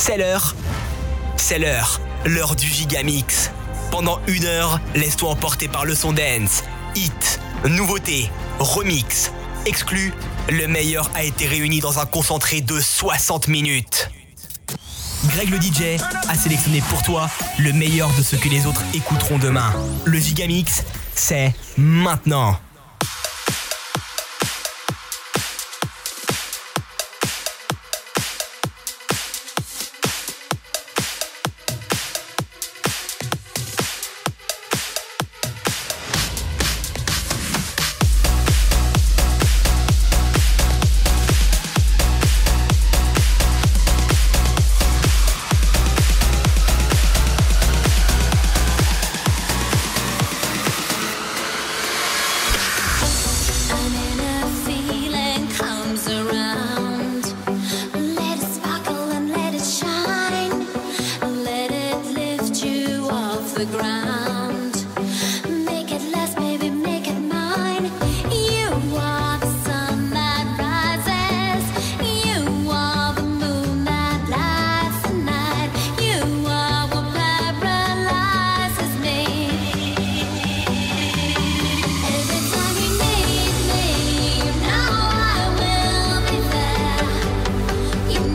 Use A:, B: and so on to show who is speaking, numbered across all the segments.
A: C'est l'heure. C'est l'heure du Gigamix. Pendant 1 heure, laisse-toi emporter par le son dance. Hit, nouveauté, remix, exclu. Le meilleur a été réuni dans un concentré de 60 minutes. Greg le DJ a sélectionné pour toi le meilleur de ce que les autres écouteront demain. Le Gigamix, c'est maintenant.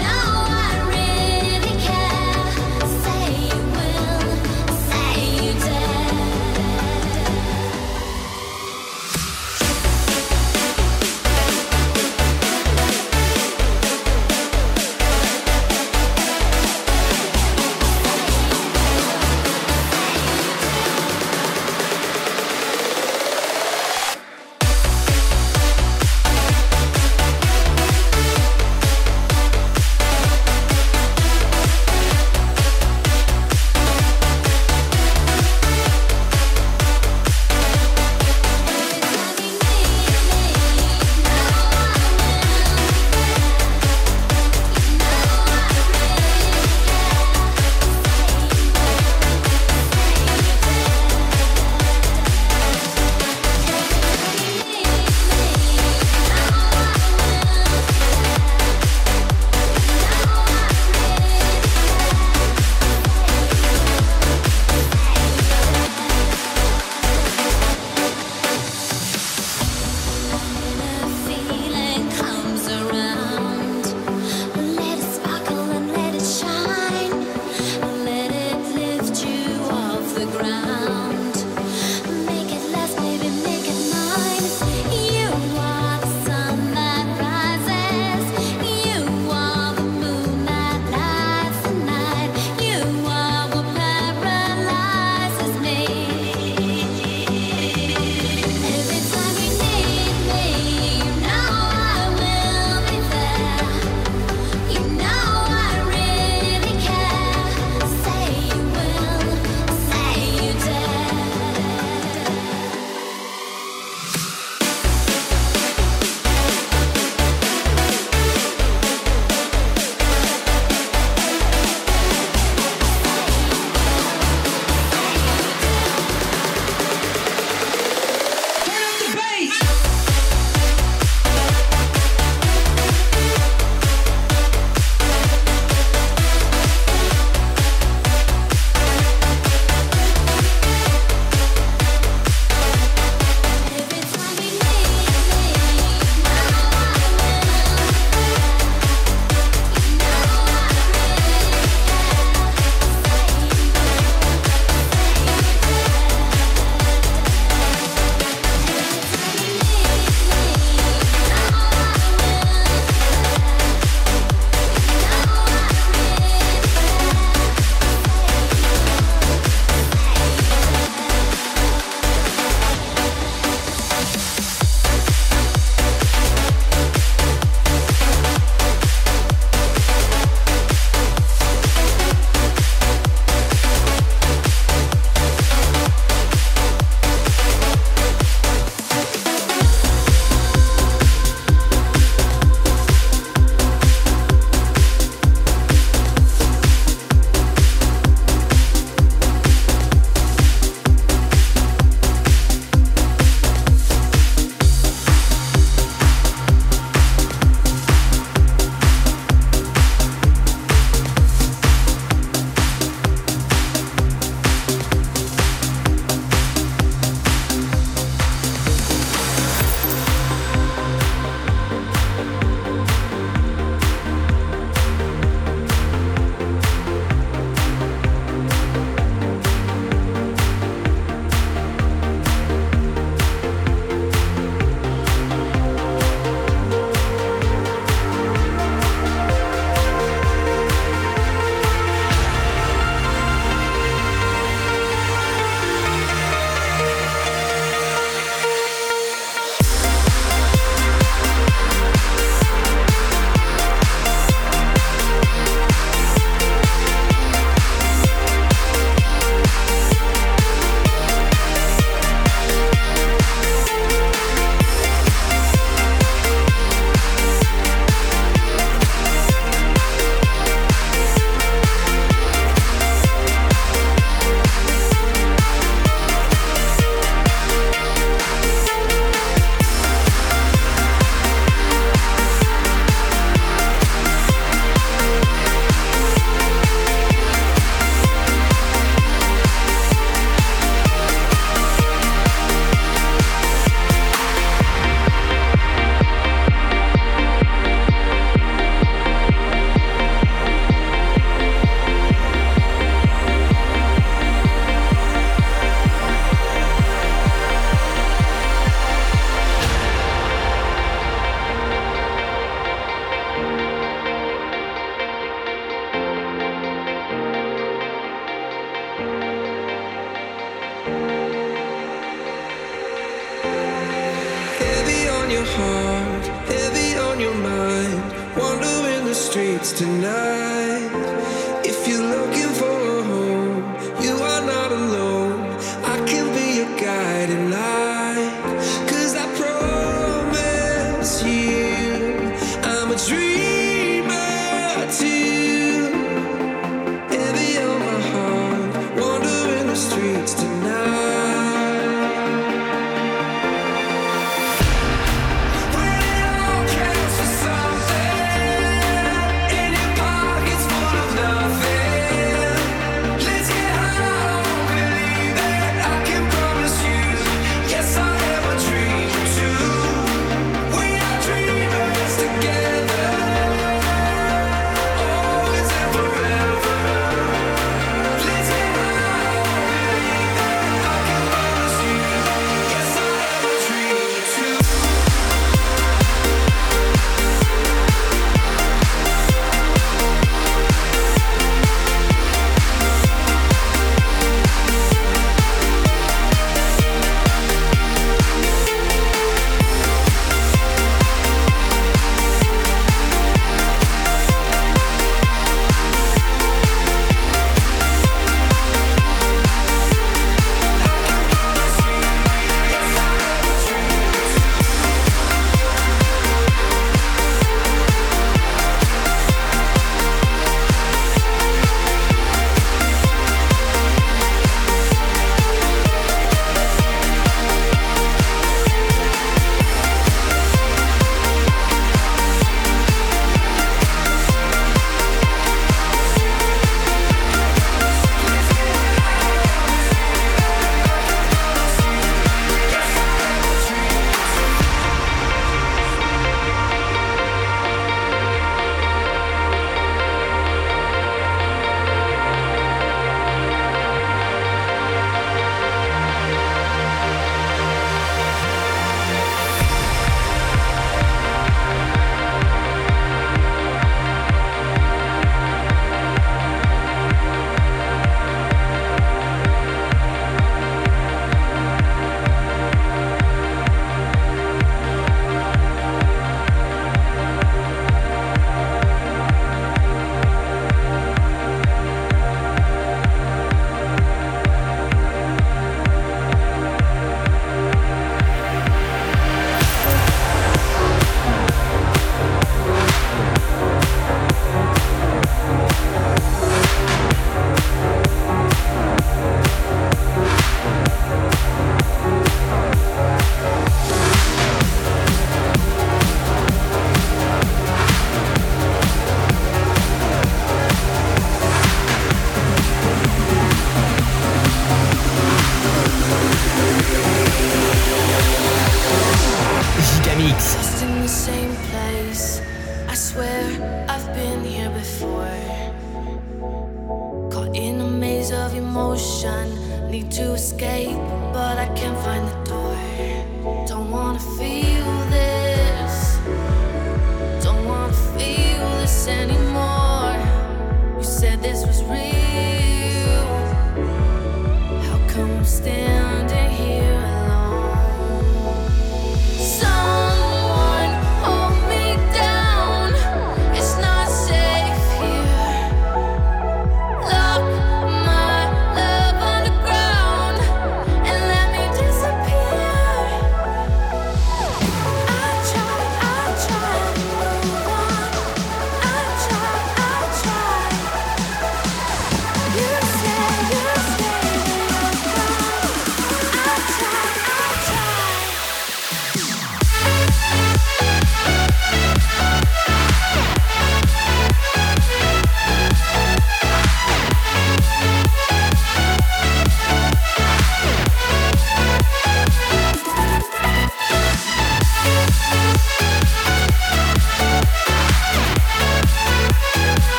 B: You your heart, heavy on your mind, wandering the streets tonight. If you're looking for a home, you are not alone. I can be your guiding light, 'cause I promise you I'm a dreamer too. Heavy on my heart, wandering the streets tonight.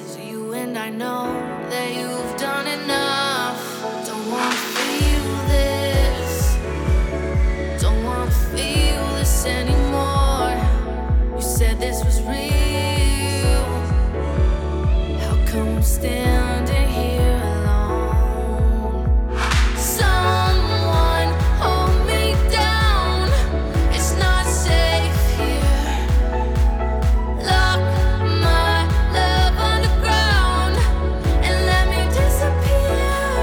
C: I know that you've done enough. Don't wanna feel this. this was real. How come I'm standing here alone? Someone hold me down. It's not safe here. Lock my love underground and let me disappear.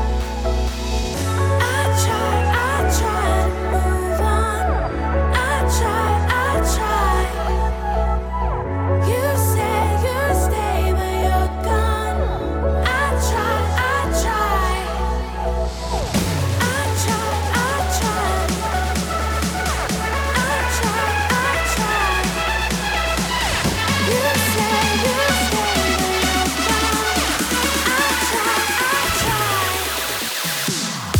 C: I try to move on. I try. You say you stay, but you're gone. I try. I try. You say you stay, but you're gone. I try.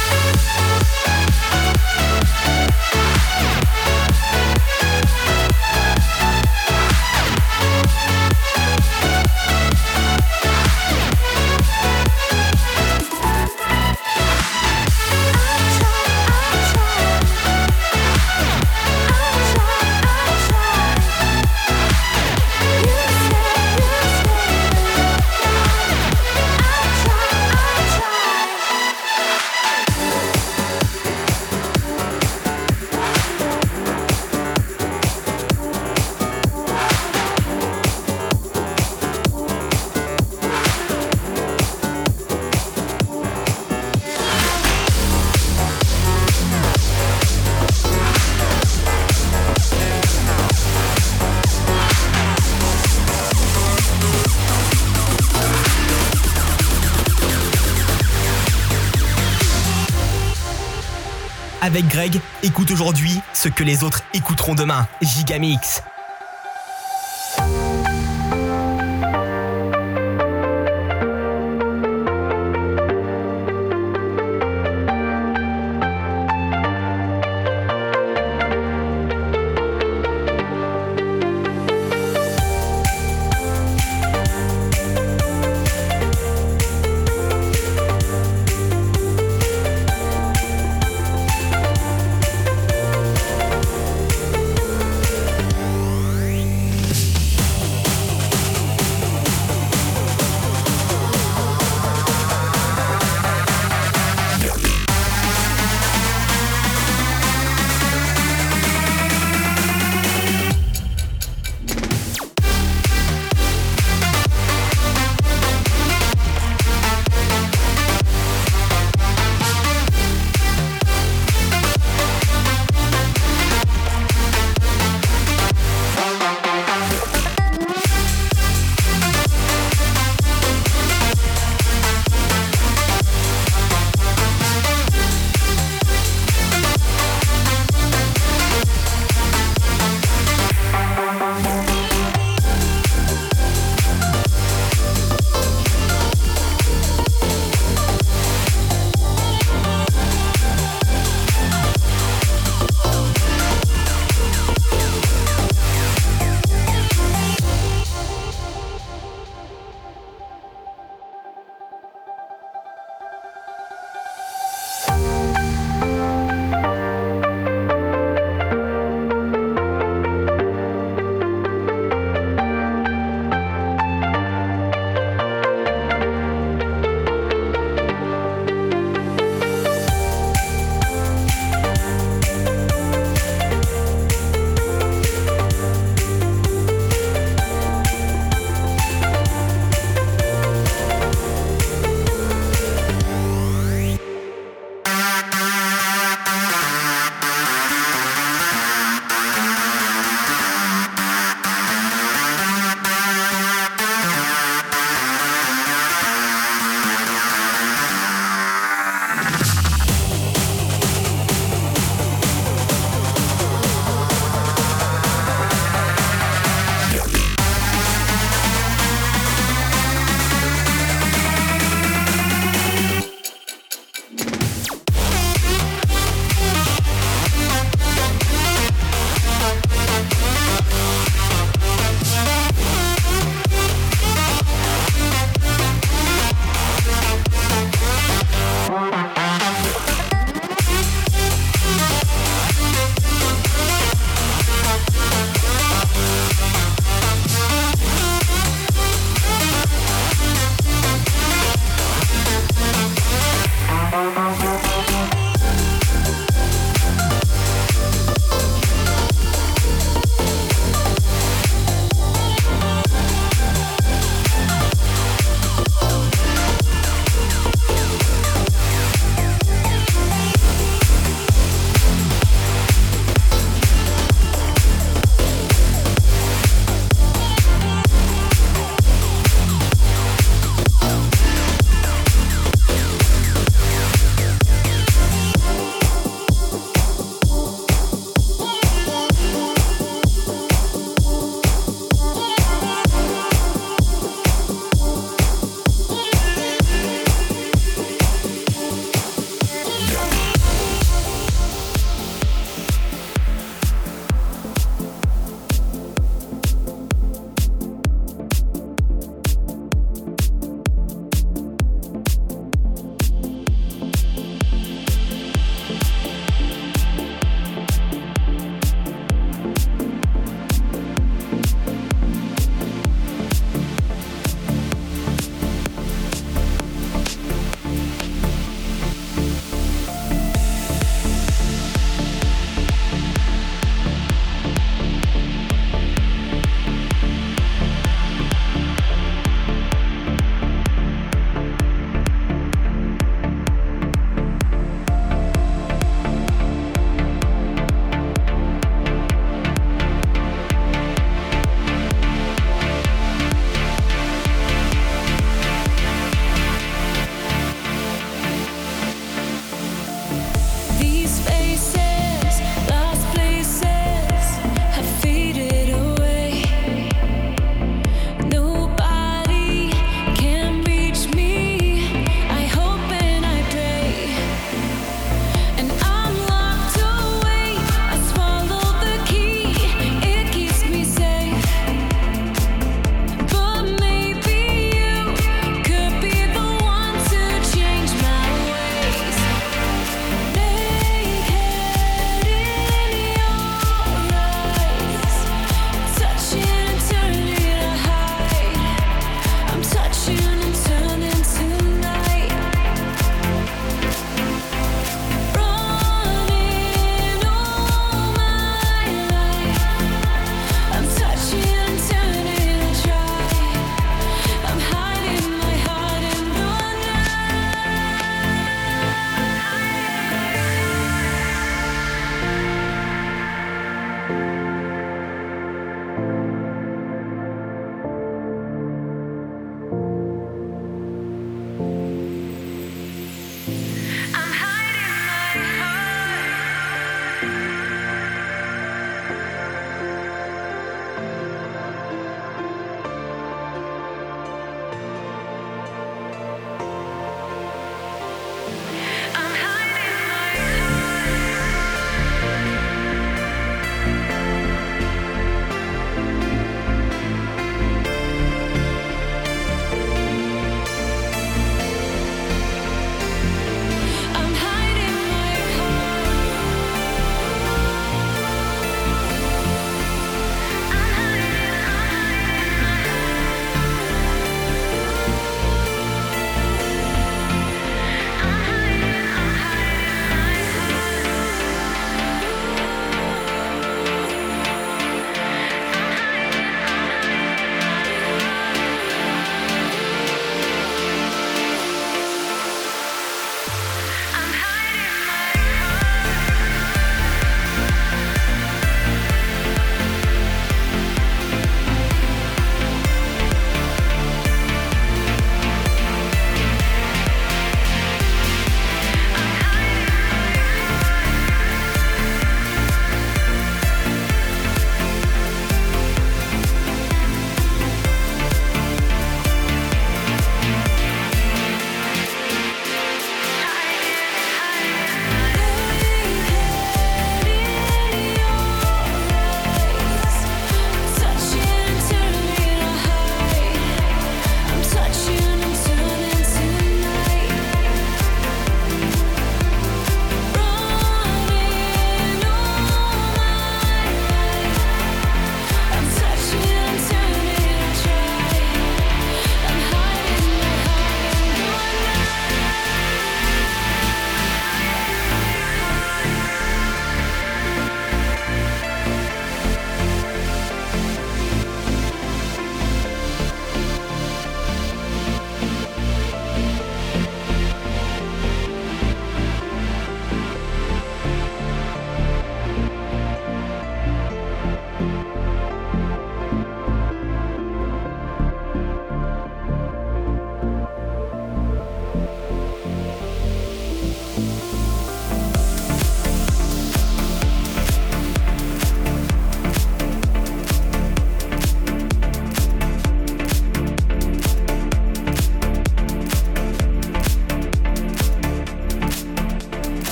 A: Avec Greg, écoute aujourd'hui ce que les autres écouteront demain. Gigamix.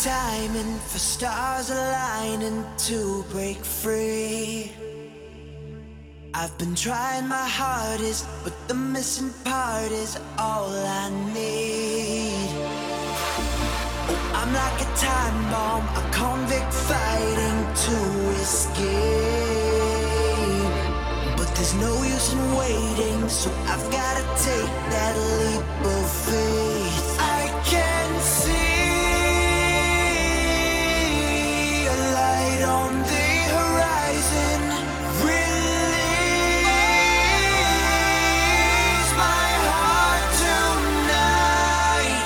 D: time and for stars aligning to break free. I've been trying my hardest, but the missing part is all I need. Oh, I'm like a time bomb, a convict fighting to escape. But there's no use in waiting, so I've gotta take that leap of faith. I can see a light on the horizon. Release my heart tonight.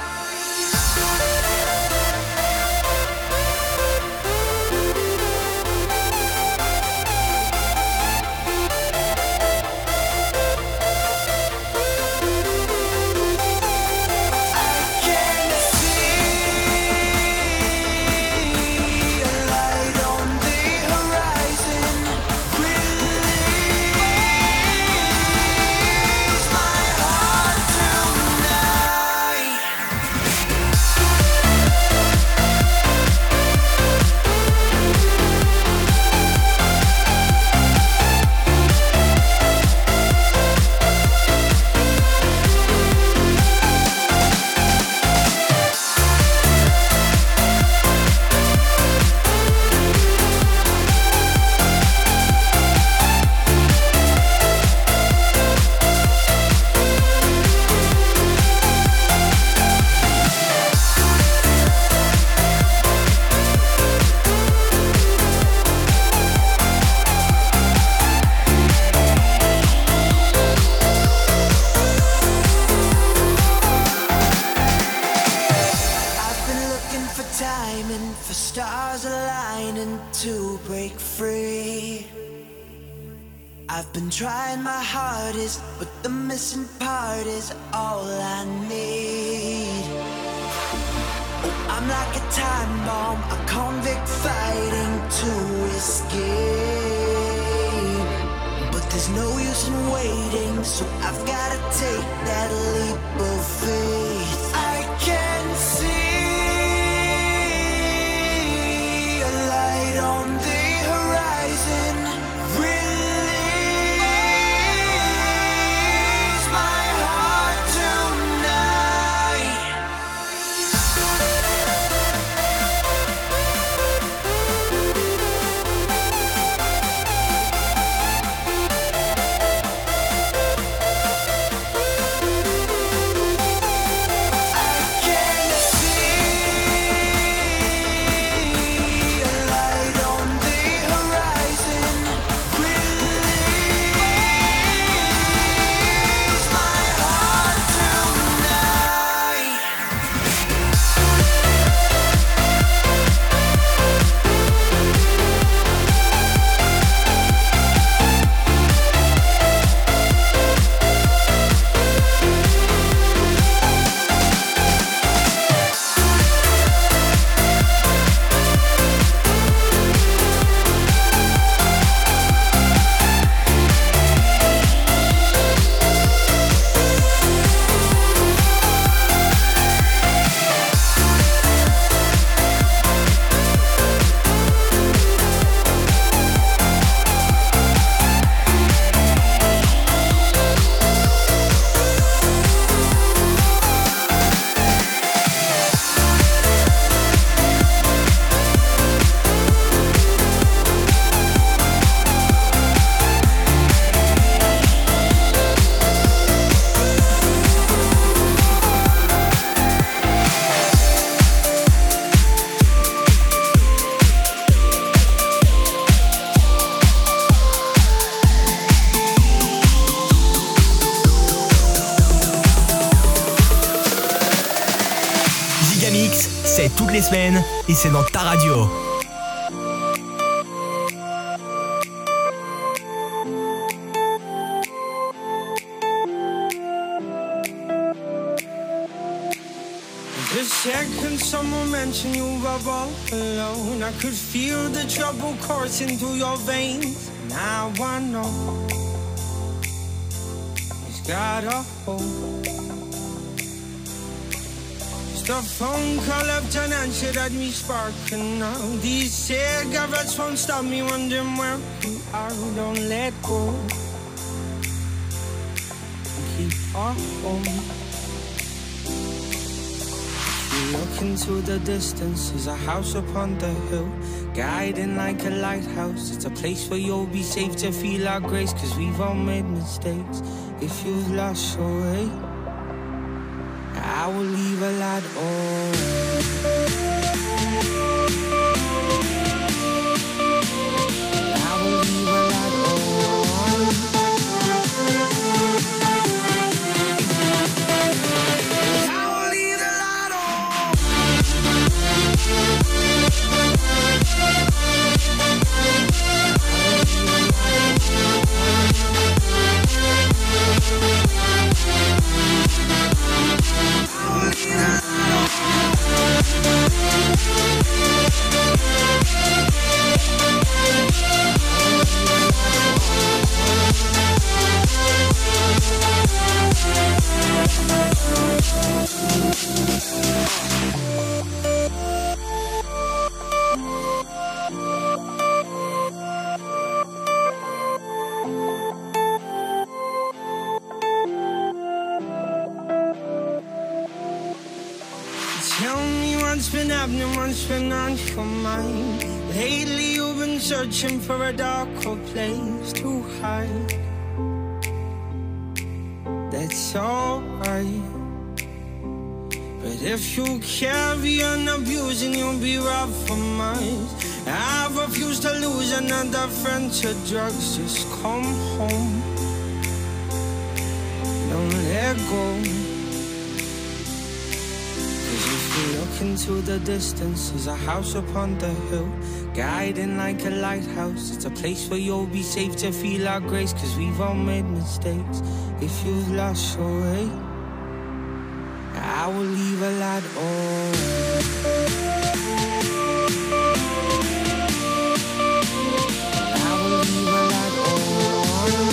D: For stars aligning to break free. I've been trying my hardest, but the missing part is all I need. Oh, I'm like a time bomb, a convict fighting to escape. But there's no use in waiting, so I've gotta take that leap of faith. I can see on the horizon. Release my heart tonight. I can see a light on the horizon. Release my heart tonight.
A: Gigamix, c'est toutes les semaines et c'est dans ta radio.
E: The second someone mentioned you were all alone, I could feel the trouble coursing through your veins. Now I know it's got a hold. The phone call left unanswered had me sparking now. These cigarettes won't stop me wondering where you are. Don't let go. Keep on. You look into the distance. There's a house upon the hill, guiding like a lighthouse. It's a place where you'll be safe to feel our grace, 'cause we've all made mistakes. If you've lost your way, I will leave a light on. I will leave a light on. I will leave the light on. Tell me what's been happening, what's been on your mind. Lately you've been searching for a darker place to hide. That's alright, but if you carry on abusing, you'll be robbed for miles. I refuse to lose another friend to drugs. Just come home, don't let go. Look into the distance. There's a house upon the hill, guiding like a lighthouse. It's a place where you'll be safe to feel our grace, 'cause we've all made mistakes. If you've lost your way, I will leave a light on. I will leave a light on.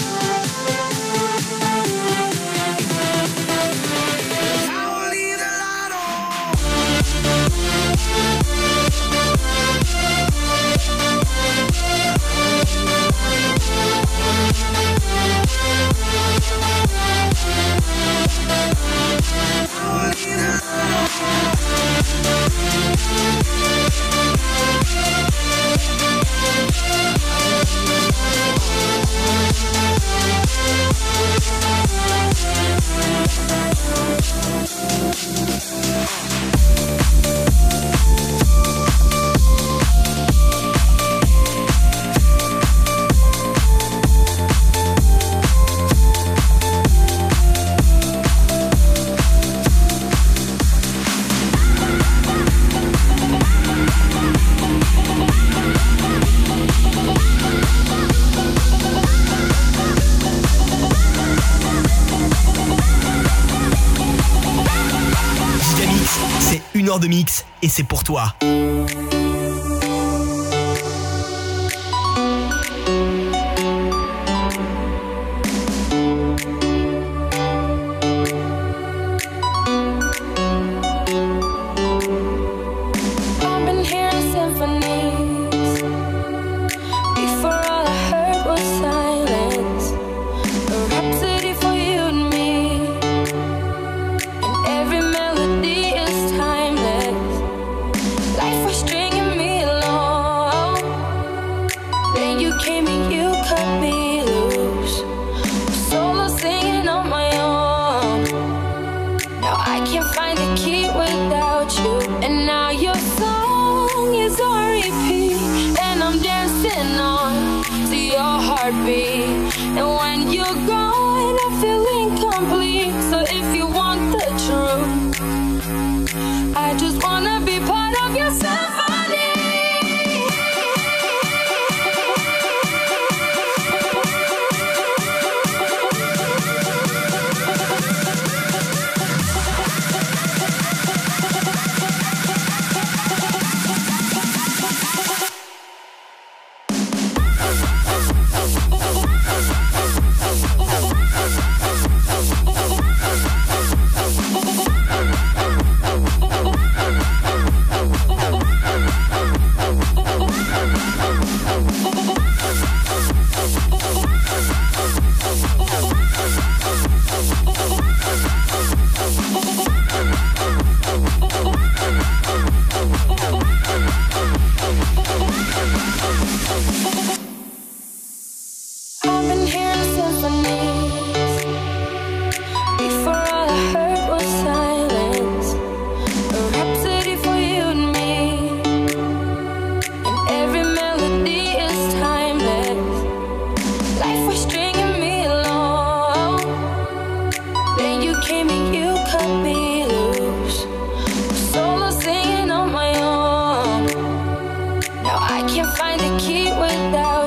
A: Une heure de mix et c'est pour toi.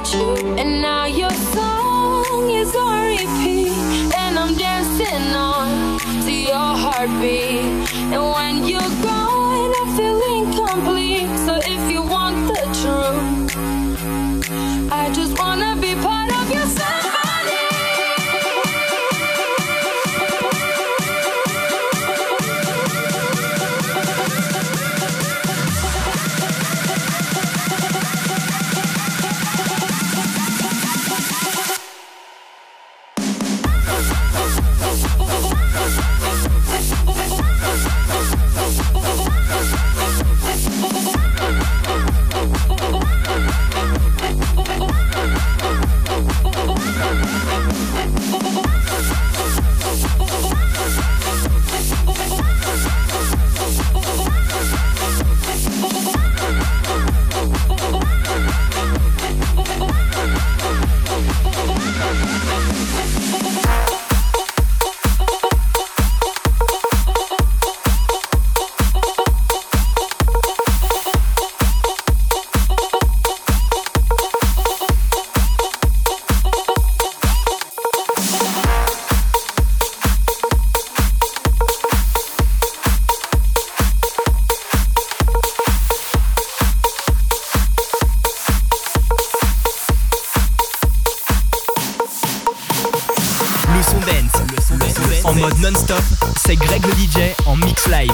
C: without you. And now your song is on repeat, and I'm dancing on to your heartbeat. And when you're gone, I feel incomplete. So if you want the truth, I just wanna be part of your symphony.
A: En mode non-stop, c'est Greg le DJ en mix live.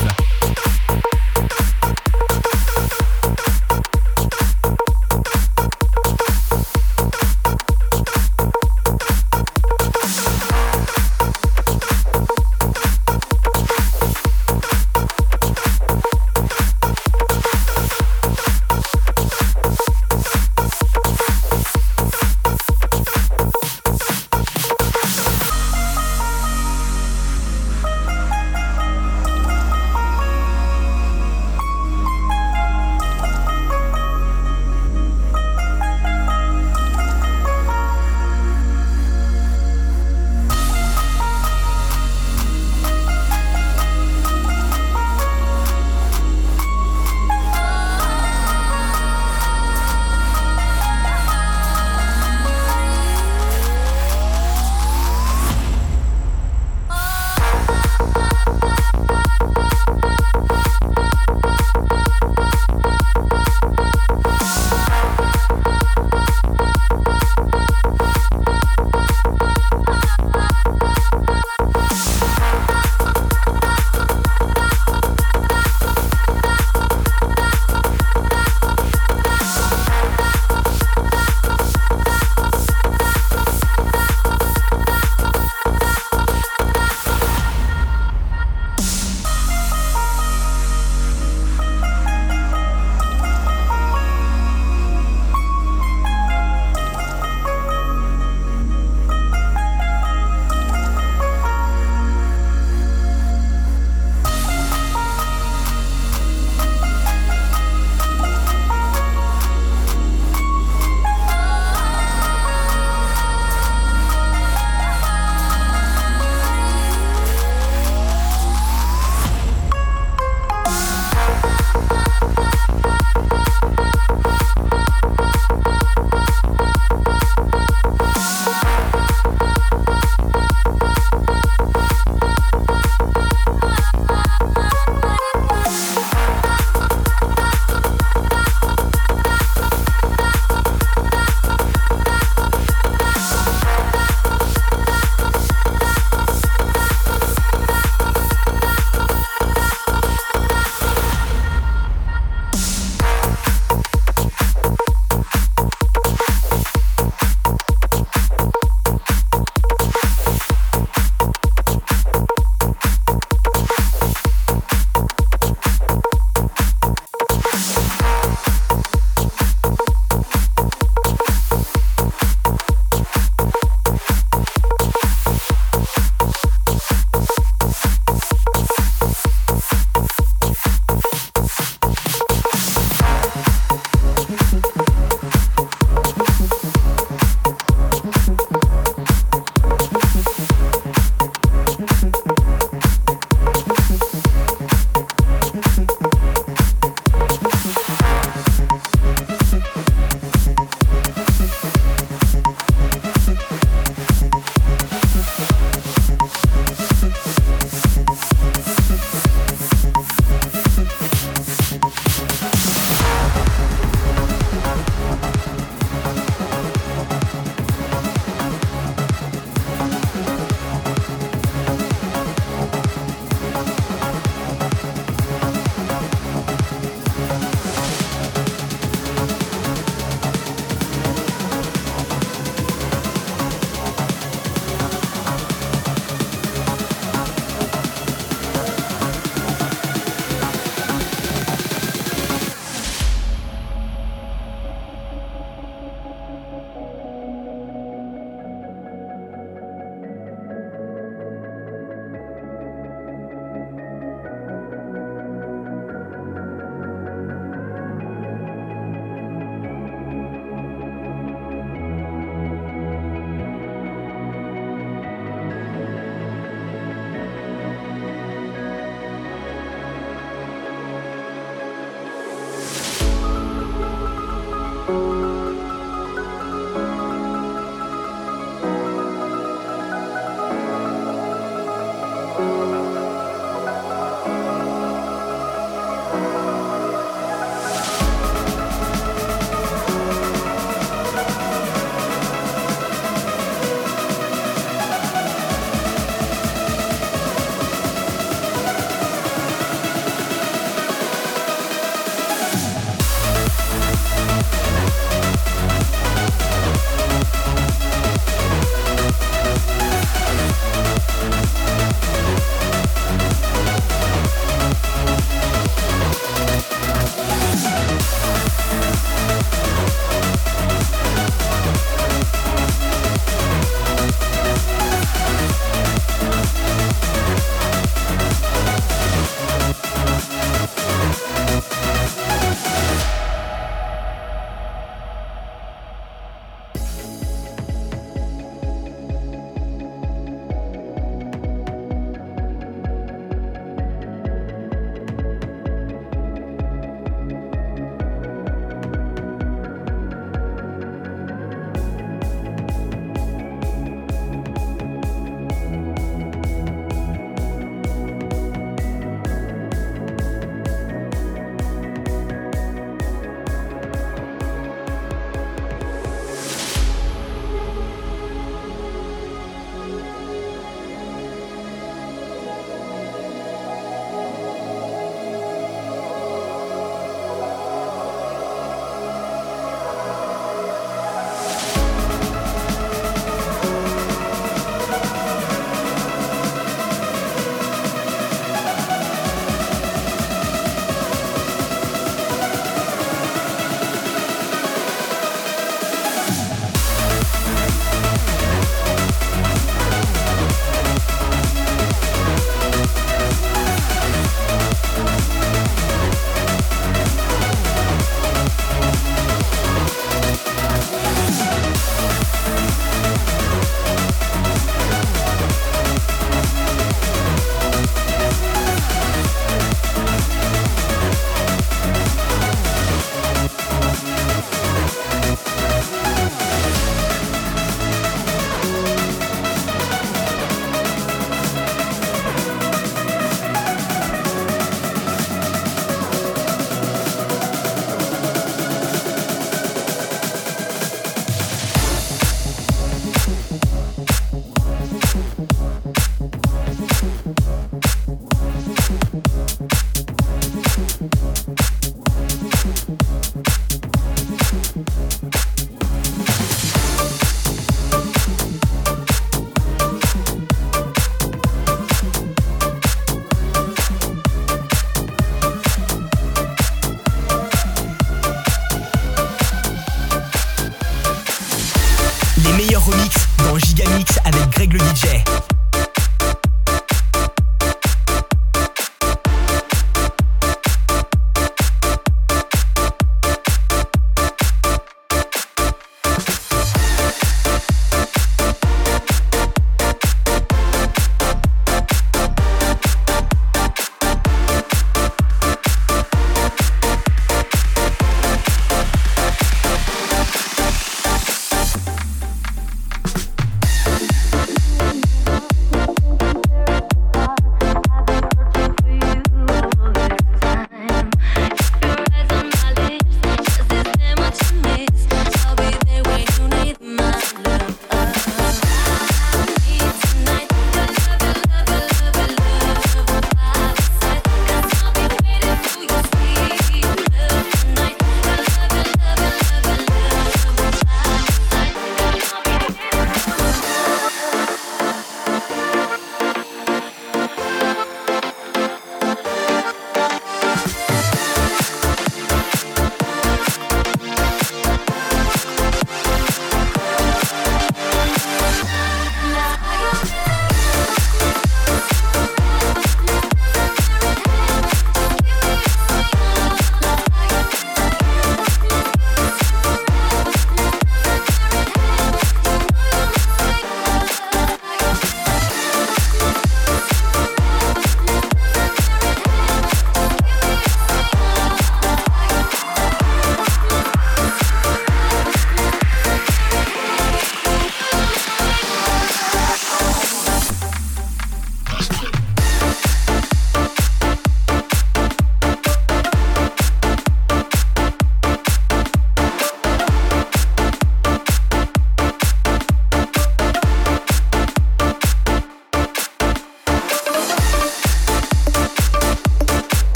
A: meilleurs remixes dans Gigamix avec Greg le DJ.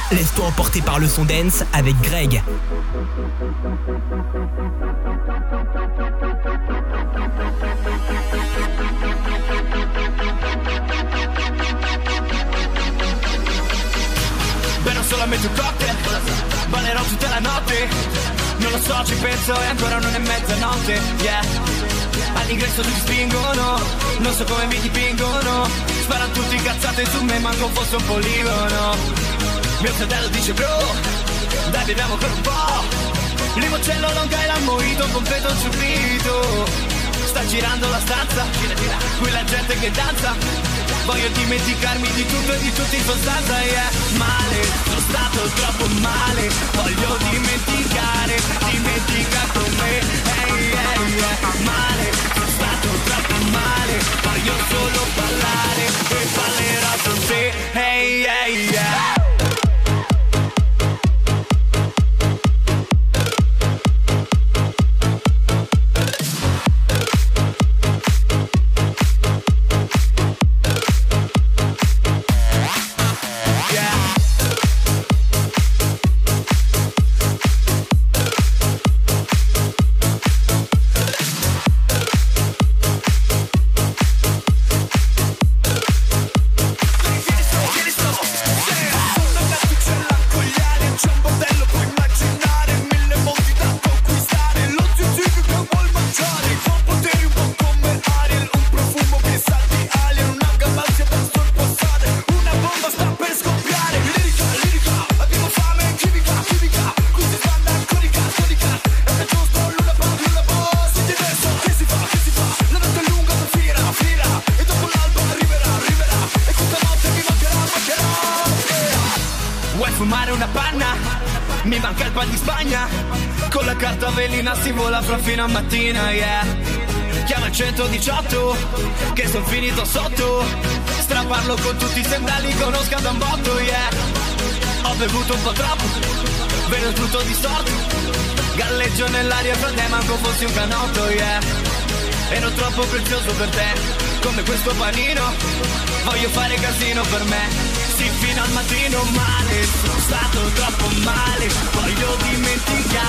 A: laisse-toi emporter par le son dance avec Greg.
F: Berrò solamente un cocktail, ballerò tutta la notte. Non lo so, ci penso e ancora non è mezzanotte, yeah. All'ingresso ti spingono, non so come mi dipingono. Sparano tutti cazzate su me, manco fosse un poligono. Mio fratello dice bro, dai beviamo ancora un po'. Limoncello, longa e l'ammoito, completo il subito. Sta girando la stanza, qui la gente che danza. Voglio dimenticarmi di tutto e di tutti in sostanza, yeah. Male, sono stato troppo male. Voglio dimenticare, dimentica con me, hey, yeah, yeah. Male, sono stato troppo male. Voglio solo ballare e ballerò con te, hey, yeah, yeah. Si vola fra fino a mattina, yeah. Chiama il 118, che son finito sotto. Straparlo con tutti i sendali, conosca da un botto, yeah. Ho bevuto un po' troppo, vedo tutto distorto. Galleggio nell'aria fra te, manco fossi un canotto, yeah. Ero troppo prezioso per te, come questo panino. Voglio fare casino per me. Sì, fino al mattino male, sono stato troppo male. Voglio dimenticare